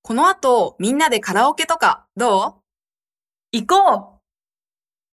この後、みんなでカラオケとか、どう？ 行こう。